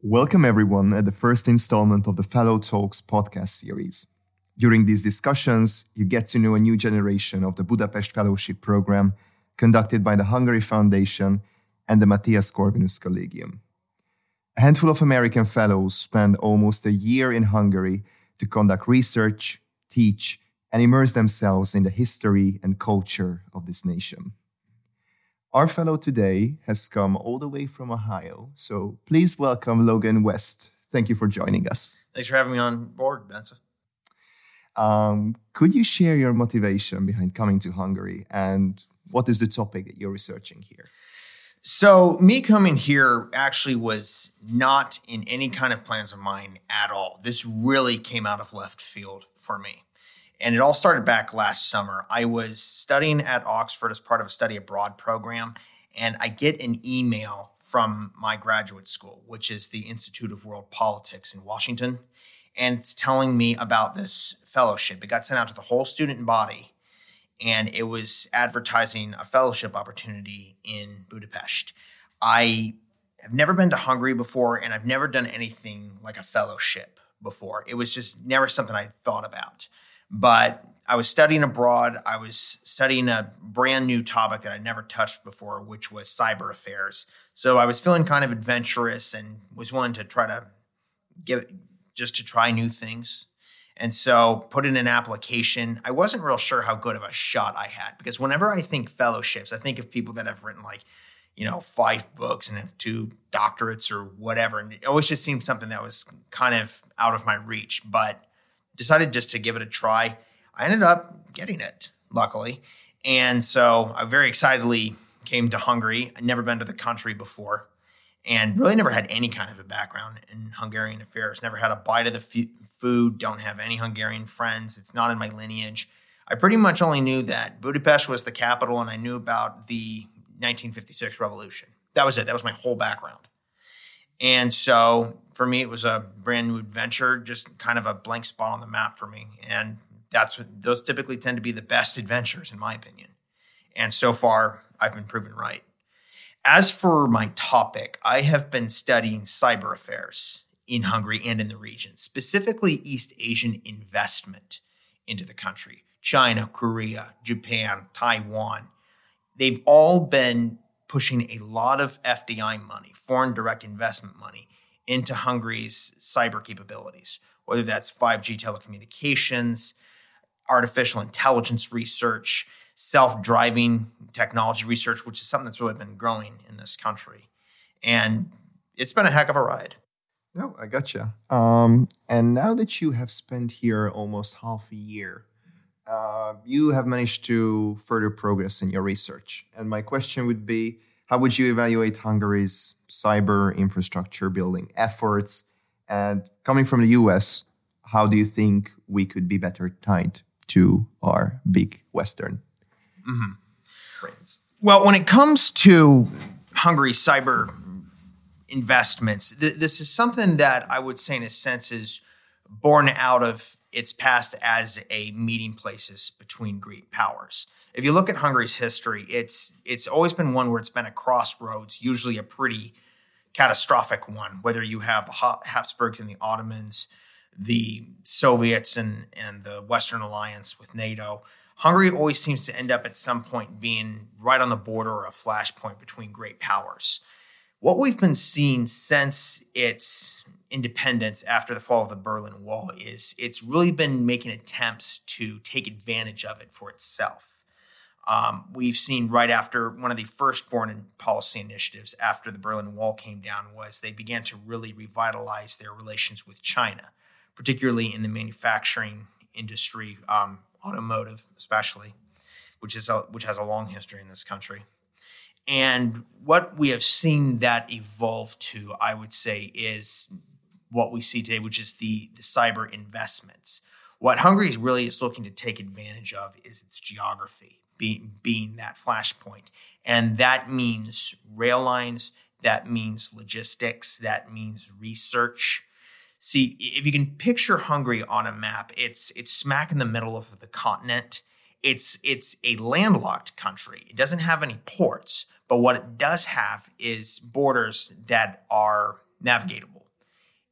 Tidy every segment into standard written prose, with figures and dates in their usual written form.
Welcome everyone at the first installment of the Fellow Talks podcast series. During these discussions, you get to know a new generation of the Budapest Fellowship Program conducted by the Hungary Foundation and the Matthias Corvinus Collegium. A handful of American fellows spend almost a year in Hungary to conduct research, teach, and immerse themselves in the history and culture of this nation. Our fellow today has come all the way from Ohio, so please welcome Logan West. Thank you for joining us. Thanks for having me on board, Benza. Could you share your motivation behind coming to Hungary and what is the topic that you're researching here? So me coming here actually was not in any kind of plans of mine at all. This really came out of left field for me. And it all started back last summer. I was studying at Oxford as part of a study abroad program, and I get an email from my graduate school, which is the Institute of World Politics in Washington, and it's telling me about this fellowship. It got sent out to the whole student body, and it was advertising a fellowship opportunity in Budapest. I have never been to Hungary before, and I've never done anything like a fellowship before. It was just never something I thought about. But I was studying abroad. I was studying a brand new topic that I never touched before, which was cyber affairs. So I was feeling kind of adventurous and was willing to try new things. And so put in an application. I wasn't real sure how good of a shot I had because whenever I think fellowships, I think of people that have written 5 books and have 2 doctorates or whatever. And it always just seemed something that was kind of out of my reach, but decided just to give it a try. I ended up getting it, luckily. And so I very excitedly came to Hungary. I'd never been to the country before and really never had any kind of a background in Hungarian affairs. Never had a bite of the food, don't have any Hungarian friends. It's not in my lineage. I pretty much only knew that Budapest was the capital and I knew about the 1956 revolution. That was it. That was my whole background. And so for me, it was a brand new adventure, just kind of a blank spot on the map for me. And those typically tend to be the best adventures, in my opinion. And so far, I've been proven right. As for my topic, I have been studying cyber affairs in Hungary and in the region, specifically East Asian investment into the country. China, Korea, Japan, Taiwan. They've all been pushing a lot of FDI money, foreign direct investment money, into Hungary's cyber capabilities, whether that's 5G telecommunications, artificial intelligence research, self-driving technology research, which is something that's really been growing in this country. And it's been a heck of a ride. No, I gotcha. And now that you have spent here almost half a year, you have managed to further progress in your research. And my question would be, how would you evaluate Hungary's cyber infrastructure building efforts? And coming from the US, how do you think we could be better tied to our big Western friends? Well, when it comes to Hungary's cyber investments, this is something that I would say in a sense is born out of its past as a meeting places between great powers. If you look at Hungary's history, it's always been one where it's been a crossroads, usually a pretty catastrophic one, whether you have the Habsburgs and the Ottomans, the Soviets and the Western Alliance with NATO. Hungary always seems to end up at some point being right on the border or a flashpoint between great powers. What we've been seeing since its independence after the fall of the Berlin Wall is it's really been making attempts to take advantage of it for itself. We've seen right after one of the first foreign policy initiatives after the Berlin Wall came down was they began to really revitalize their relations with China, particularly in the manufacturing industry, automotive especially, which has a long history in this country. And what we have seen that evolve to, I would say, is what we see today, which is the cyber investments. What Hungary really is looking to take advantage of is its geography, being that flashpoint. And that means rail lines, that means logistics, that means research. See, if you can picture Hungary on a map, it's smack in the middle of the continent. It's a landlocked country. It doesn't have any ports, but what it does have is borders that are navigatable.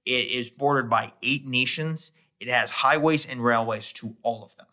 It is bordered by 8 nations. It has highways and railways to all of them.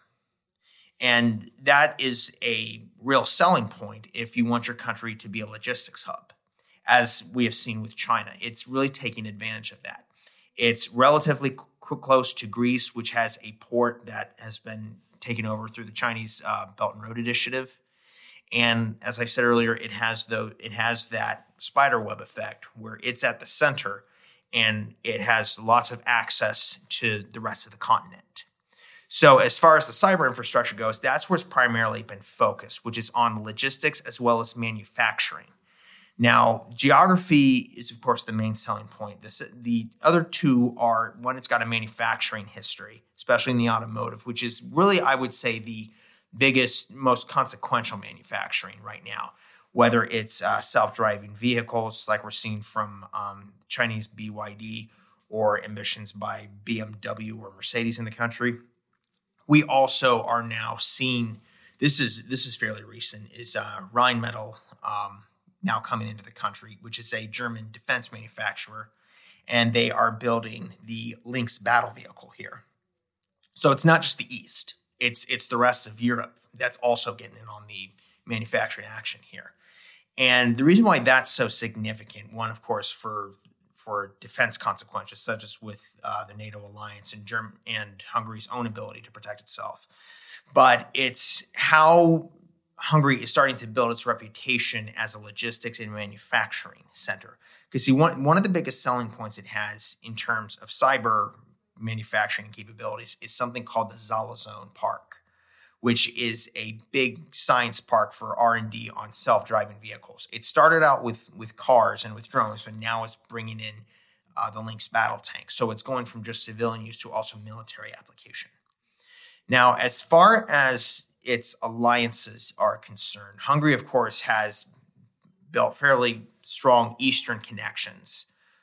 And that is a real selling point if you want your country to be a logistics hub, as we have seen with China. It's really taking advantage of that. It's relatively close to Greece, which has a port that has been taken over through the Chinese Belt and Road Initiative. And as I said earlier, it has that spiderweb effect where it's at the center and it has lots of access to the rest of the continent. So as far as the cyber infrastructure goes, that's where it's primarily been focused, which is on logistics as well as manufacturing. Now, geography is, of course, the main selling point. The other two are, one, it's got a manufacturing history, especially in the automotive, which is really, I would say, the biggest, most consequential manufacturing right now, whether it's self-driving vehicles like we're seeing from Chinese BYD or ambitions by BMW or Mercedes in the country. We also are now seeing, this is fairly recent, is Rheinmetall now coming into the country, which is a German defense manufacturer, and they are building the Lynx battle vehicle here. So it's not just the East, it's the rest of Europe that's also getting in on the manufacturing action here. And the reason why that's so significant, one, of course, for defense consequences, such as with the NATO alliance and Hungary's own ability to protect itself. But it's how Hungary is starting to build its reputation as a logistics and manufacturing center. Because see, one of the biggest selling points it has in terms of cyber manufacturing capabilities is something called the Zalazone Park, which is a big science park for R&D on self-driving vehicles. It started out with cars and with drones, but now it's bringing in the Lynx battle tank. So it's going from just civilian use to also military application. Now, as far as its alliances are concerned, Hungary, of course, has built fairly strong Eastern connections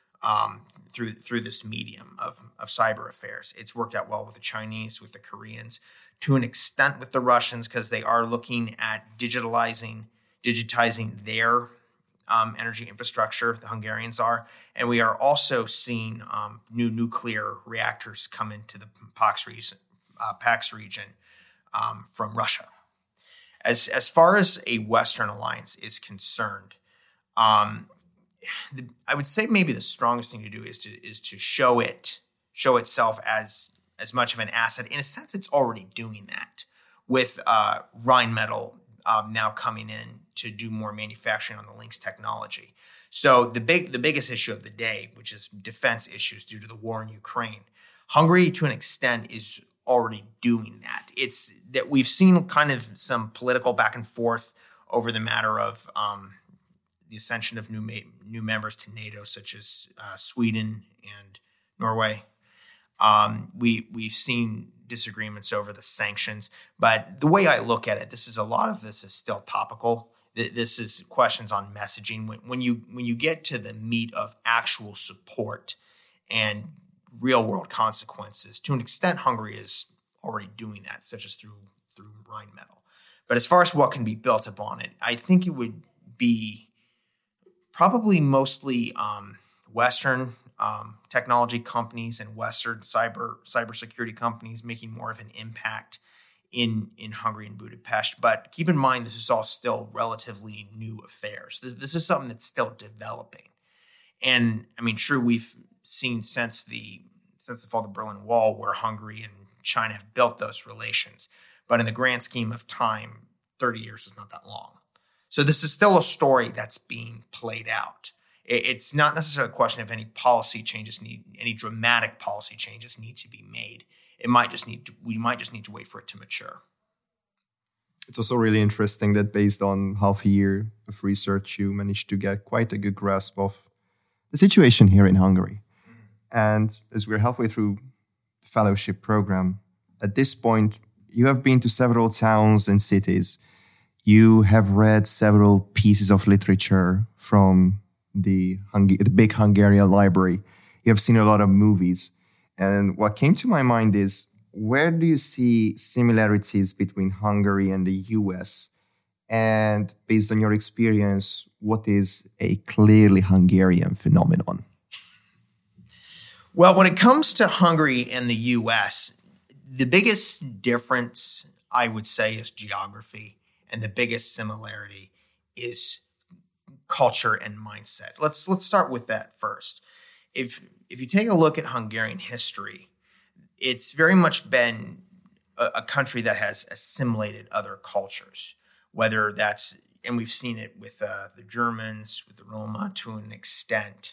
through this medium of cyber affairs. It's worked out well with the Chinese, with the Koreans, to an extent with the Russians, because they are looking at digitizing their energy infrastructure, the Hungarians are. And we are also seeing new nuclear reactors come into the PAX region from Russia. As far as a Western alliance is concerned, I would say maybe the strongest thing to do is to show itself as much of an asset. In a sense, it's already doing that with Rheinmetall now coming in to do more manufacturing on the Lynx technology. So the biggest issue of the day, which is defense issues due to the war in Ukraine, Hungary to an extent is already doing that. It's that we've seen kind of some political back and forth over the matter of the ascension of new members to NATO, such as Sweden and Norway. We've seen disagreements over the sanctions, but the way I look at it, a lot of this is still topical. This is questions on messaging. When you get to the meat of actual support and real world consequences, to an extent, Hungary is already doing that, such as through Rheinmetall. But as far as what can be built upon it, I think it would be probably mostly Western technology companies and Western cybersecurity companies making more of an impact in Hungary and Budapest. But keep in mind, this is all still relatively new affairs. This is something that's still developing. And I mean, sure, we've seen since the fall of the Berlin Wall where Hungary and China have built those relations. But in the grand scheme of time, 30 years is not that long. So this is still a story that's being played out. It's not necessarily a question of any dramatic policy changes need to be made. We might just need to wait for it to mature. It's also really interesting that based on half a year of research, you managed to get quite a good grasp of the situation here in Hungary. And as we're halfway through the fellowship program, at this point, you have been to several towns and cities. You have read several pieces of literature from the big Hungarian library. You have seen a lot of movies. And what came to my mind is, where do you see similarities between Hungary and the US? And based on your experience, what is a clearly Hungarian phenomenon? Well, when it comes to Hungary and the U.S., the biggest difference, I would say, is geography, and the biggest similarity is culture and mindset. Let's start with that first. If you take a look at Hungarian history, it's very much been a country that has assimilated other cultures, whether that's, and we've seen it with the Germans, with the Roma to an extent.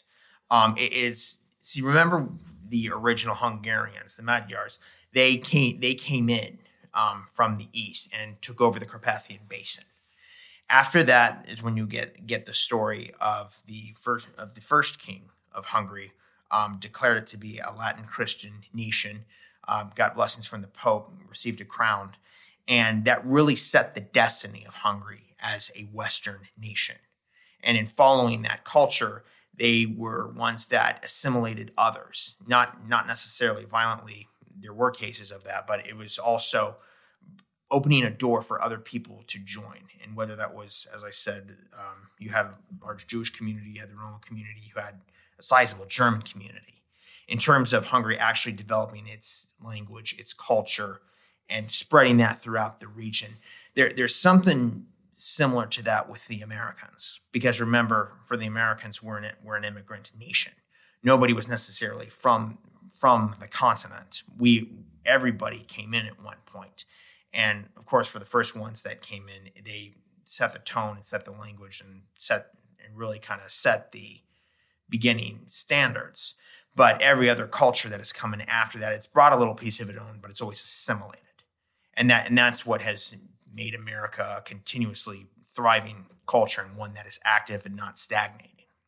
So you remember the original Hungarians, the Magyars, they came in from the east and took over the Carpathian Basin. After that is when you get the story of the first king of Hungary, declared it to be a Latin Christian nation, got blessings from the Pope, received a crown, and that really set the destiny of Hungary as a Western nation. And in following that culture, they were ones that assimilated others, not necessarily violently. There were cases of that, but it was also opening a door for other people to join. And whether that was, as I said, you had a large Jewish community, you had the Roman community, you had a sizable German community. In terms of Hungary actually developing its language, its culture, and spreading that throughout the region, there's something similar to that with the Americans. Because remember, for the Americans, we're an immigrant nation. Nobody was necessarily from the continent. Everybody came in at one point. And of course, for the first ones that came in, they set the tone and set the language and really kind of set the beginning standards. But every other culture that has come in after that, it's brought a little piece of its own, but it's always assimilated. And that's what has made America a continuously thriving culture, and one that is active and not stagnating.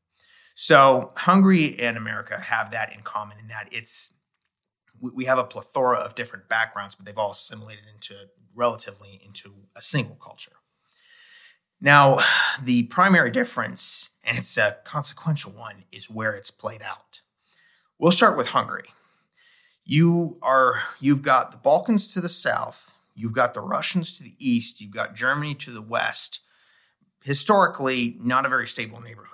So Hungary and America have that in common, in that we have a plethora of different backgrounds, but they've all assimilated relatively into a single culture. Now, the primary difference, and it's a consequential one, is where it's played out. We'll start with Hungary. You've got the Balkans to the south, you've got the Russians to the east, you've got Germany to the west. Historically, not a very stable neighborhood.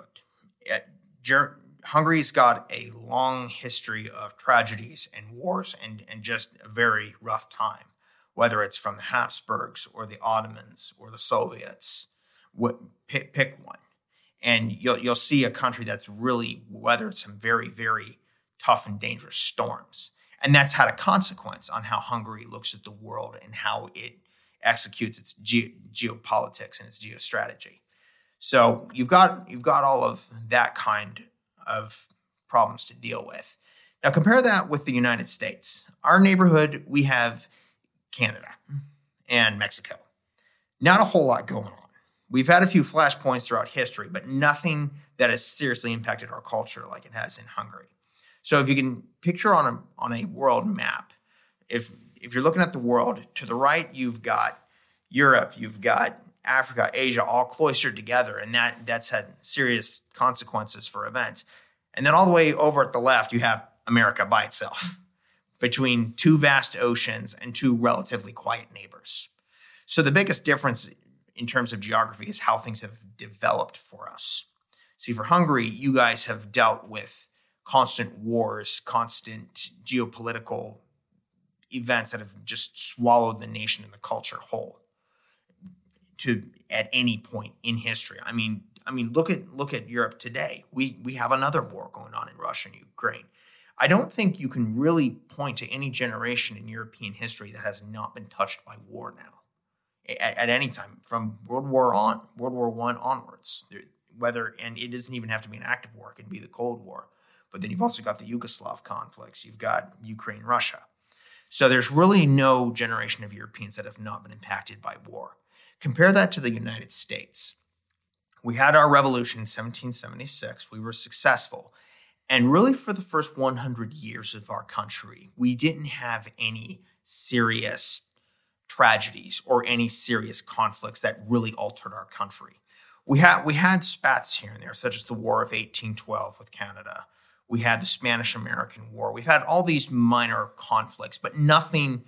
Hungary's got a long history of tragedies and wars and just a very rough time, whether it's from the Habsburgs or the Ottomans or the Soviets. Pick one. And you'll see a country that's really weathered some very, very tough and dangerous storms. And that's had a consequence on how Hungary looks at the world and how it executes its geopolitics and its geostrategy. So you've got all of that kind of problems to deal with. Now compare that with the United States. Our neighborhood, we have Canada and Mexico. Not a whole lot going on. We've had a few flashpoints throughout history, but nothing that has seriously impacted our culture like it has in Hungary. So if you can picture on a world map, if you're looking at the world, to the right, you've got Europe, you've got Africa, Asia, all cloistered together, and that's had serious consequences for events. And then all the way over at the left, you have America by itself, between two vast oceans and two relatively quiet neighbors. So the biggest difference in terms of geography is how things have developed for us. See, for Hungary, you guys have dealt with constant wars, constant geopolitical events that have just swallowed the nation and the culture whole at any point in history. I mean, look at Europe today. We have another war going on in Russia and Ukraine. I don't think you can really point to any generation in European history that has not been touched by war now, at any time, from World War I onwards. And it doesn't even have to be an active war; it can be the Cold War. But then you've also got the Yugoslav conflicts. You've got Ukraine, Russia. So there's really no generation of Europeans that have not been impacted by war. Compare that to the United States. We had our revolution in 1776. We were successful. And really for the first 100 years of our country, we didn't have any serious tragedies or any serious conflicts that really altered our country. We had spats here and there, such as the War of 1812 with Canada. We had the Spanish-American War. We've had all these minor conflicts, but nothing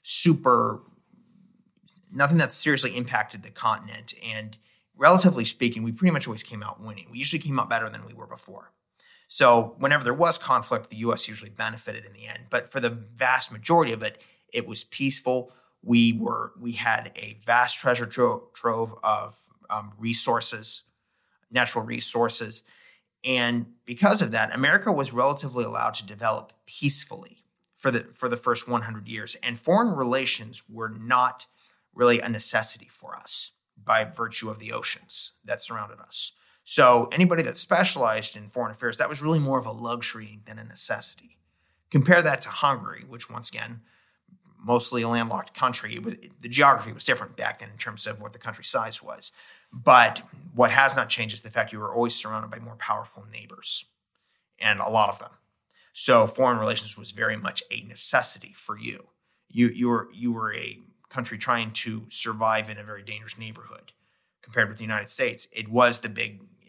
that seriously impacted the continent. And relatively speaking, we pretty much always came out winning. We usually came out better than we were before. So whenever there was conflict, the U.S. usually benefited in the end. But for the vast majority of it, it was peaceful. We had a vast treasure trove of resources, natural resources. And because of that, America was relatively allowed to develop peacefully for the first 100 years. And foreign relations were not really a necessity for us by virtue of the oceans that surrounded us. So anybody that specialized in foreign affairs, that was really more of a luxury than a necessity. Compare that to Hungary, which once again, mostly a landlocked country. The geography was different back then in terms of what the country size was. But what has not changed is the fact you were always surrounded by more powerful neighbors, and a lot of them. So foreign relations was very much a necessity for you. You were a country trying to survive in a very dangerous neighborhood. Compared with the United States, it is the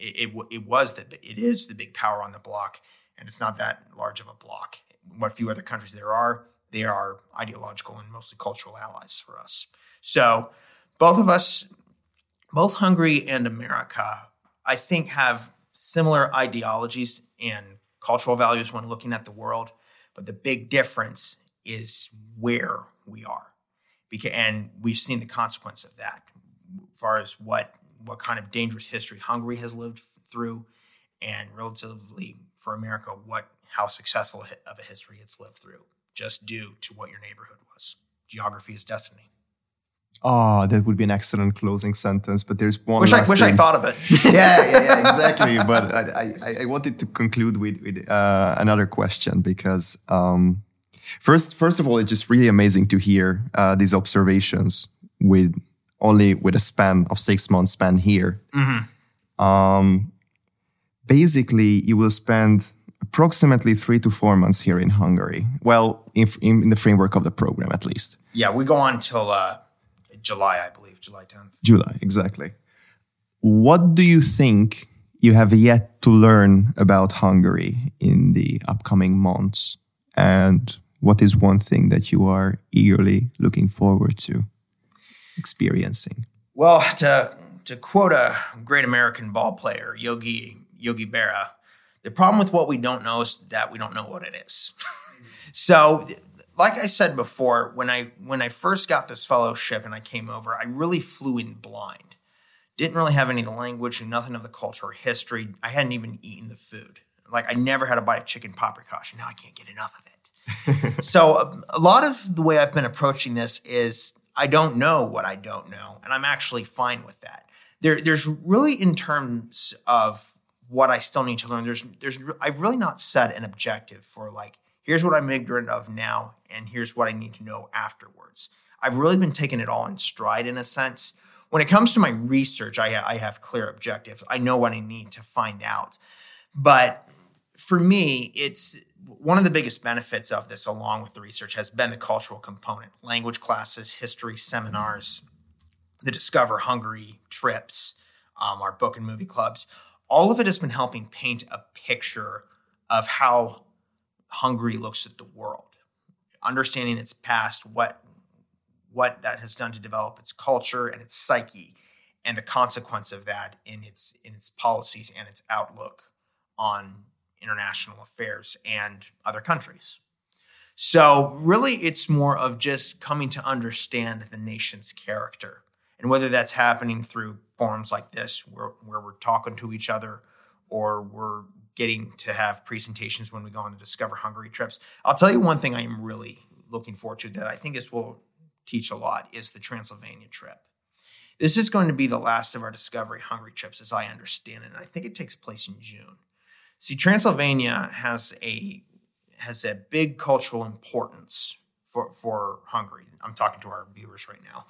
big power on the block, and it's not that large of a block. What few other countries they are ideological and mostly cultural allies for us. So both of us, both Hungary and America, I think have similar ideologies and cultural values when looking at the world, but the big difference is where we are. And we've seen the consequence of that as far as what kind of dangerous history Hungary has lived through, and relatively for America, how successful of a history it's lived through, just due to what your neighborhood was. Geography is destiny. Oh, that would be an excellent closing sentence, but there's one Wish I thought of it. yeah, exactly. But I wanted to conclude with another question because first of all, it's just really amazing to hear these observations with a span of 6 months span here. Mm-hmm. Basically, you will spend approximately 3 to 4 months here in Hungary. Well, in the framework of the program, at least. Yeah, we go on till July, I believe, July 10th. July, exactly. What do you think you have yet to learn about Hungary in the upcoming months? And what is one thing that you are eagerly looking forward to experiencing? Well, to quote a great American ball player, Yogi Berra, the problem with what we don't know is that we don't know what it is. So, like I said before, when I first got this fellowship and I came over, I really flew in blind. Didn't really have any of the language and nothing of the culture or history. I hadn't even eaten the food. Like, I never had a bite of chicken paprikash, and now I can't get enough of it. So a lot of the way I've been approaching this is I don't know what I don't know, and I'm actually fine with that. There's really, in terms of what I still need to learn, I've really not set an objective for like, here's what I'm ignorant of now, and here's what I need to know afterwards. I've really been taking it all in stride in a sense. When it comes to my research, I have clear objectives. I know what I need to find out. But for me, it's one of the biggest benefits of this, along with the research, has been the cultural component. Language classes, history seminars, the Discover Hungary trips, our book and movie clubs. All of it has been helping paint a picture of how Hungary looks at the world, understanding its past, what that has done to develop its culture and its psyche, and the consequence of that in its policies and its outlook on international affairs and other countries. So really, it's more of just coming to understand the nation's character, and whether that's happening through forums like this, where we're talking to each other, or we're getting to have presentations when we go on the Discover Hungary trips. I'll tell you one thing I am really looking forward to that I think this will teach a lot is the Transylvania trip. This is going to be the last of our Discovery Hungary trips as I understand it, and I think it takes place in June. See, Transylvania has a big cultural importance for Hungary. I'm talking to our viewers right now.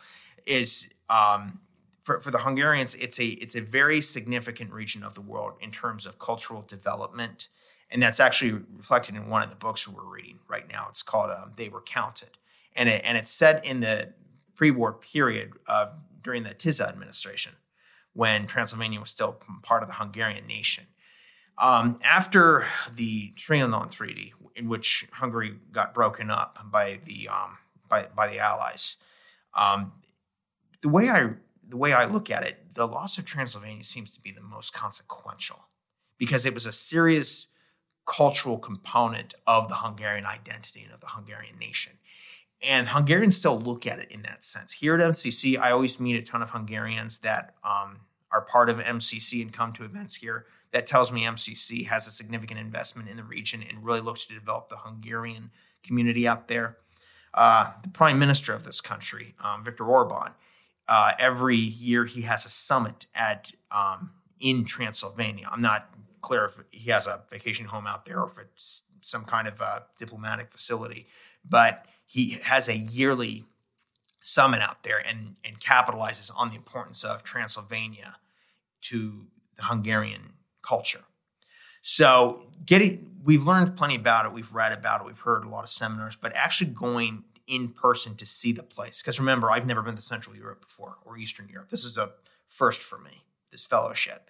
For the Hungarians, it's a very significant region of the world in terms of cultural development, and that's actually reflected in one of the books we're reading right now. It's called "They Were Counted," and it's set in the pre-war period during the Tisza administration, when Transylvania was still part of the Hungarian nation. After the Trianon Treaty, in which Hungary got broken up by the Allies, the way I look at it, the loss of Transylvania seems to be the most consequential, because it was a serious cultural component of the Hungarian identity and of the Hungarian nation. And Hungarians still look at it in that sense. Here at MCC, I always meet a ton of Hungarians that are part of MCC and come to events here. That tells me MCC has a significant investment in the region and really looks to develop the Hungarian community out there. The prime minister of this country, Viktor Orban, every year he has a summit in Transylvania. I'm not clear if he has a vacation home out there or if it's some kind of diplomatic facility, but he has a yearly summit out there and capitalizes on the importance of Transylvania to the Hungarian culture. So we've learned plenty about it. We've read about it. We've heard a lot of seminars, but actually going in person to see the place. Because remember, I've never been to Central Europe before or Eastern Europe. This is a first for me, this fellowship.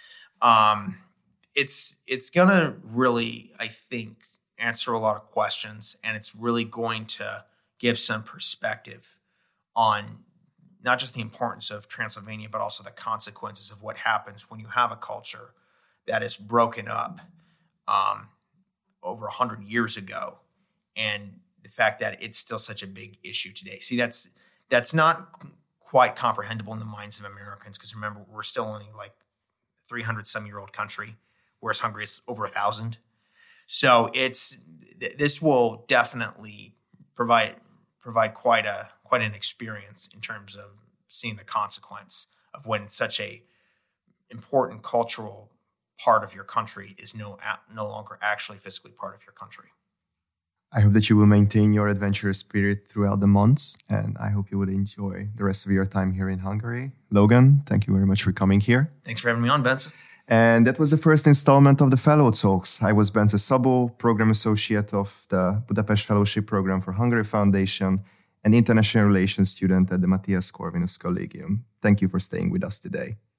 It's going to really, I think, answer a lot of questions, and it's really going to give some perspective on not just the importance of Transylvania, but also the consequences of what happens when you have a culture that is broken up over 100 years ago, and the fact that it's still such a big issue today. See, that's not quite comprehensible in the minds of Americans, because remember, we're still only like 300-some-year-old country, whereas Hungary is over 1,000. So this will definitely provide quite an experience in terms of seeing the consequence of when such a important cultural part of your country is no longer actually physically part of your country. I hope that you will maintain your adventurous spirit throughout the months, and I hope you would enjoy the rest of your time here in Hungary. Logan, thank you very much for coming here. Thanks for having me on, Benson. And that was the first installment of the Fellow Talks. I was Bence Szabó, Program Associate of the Budapest Fellowship Program for Hungary Foundation and International Relations student at the Matthias Corvinus Collegium. Thank you for staying with us today.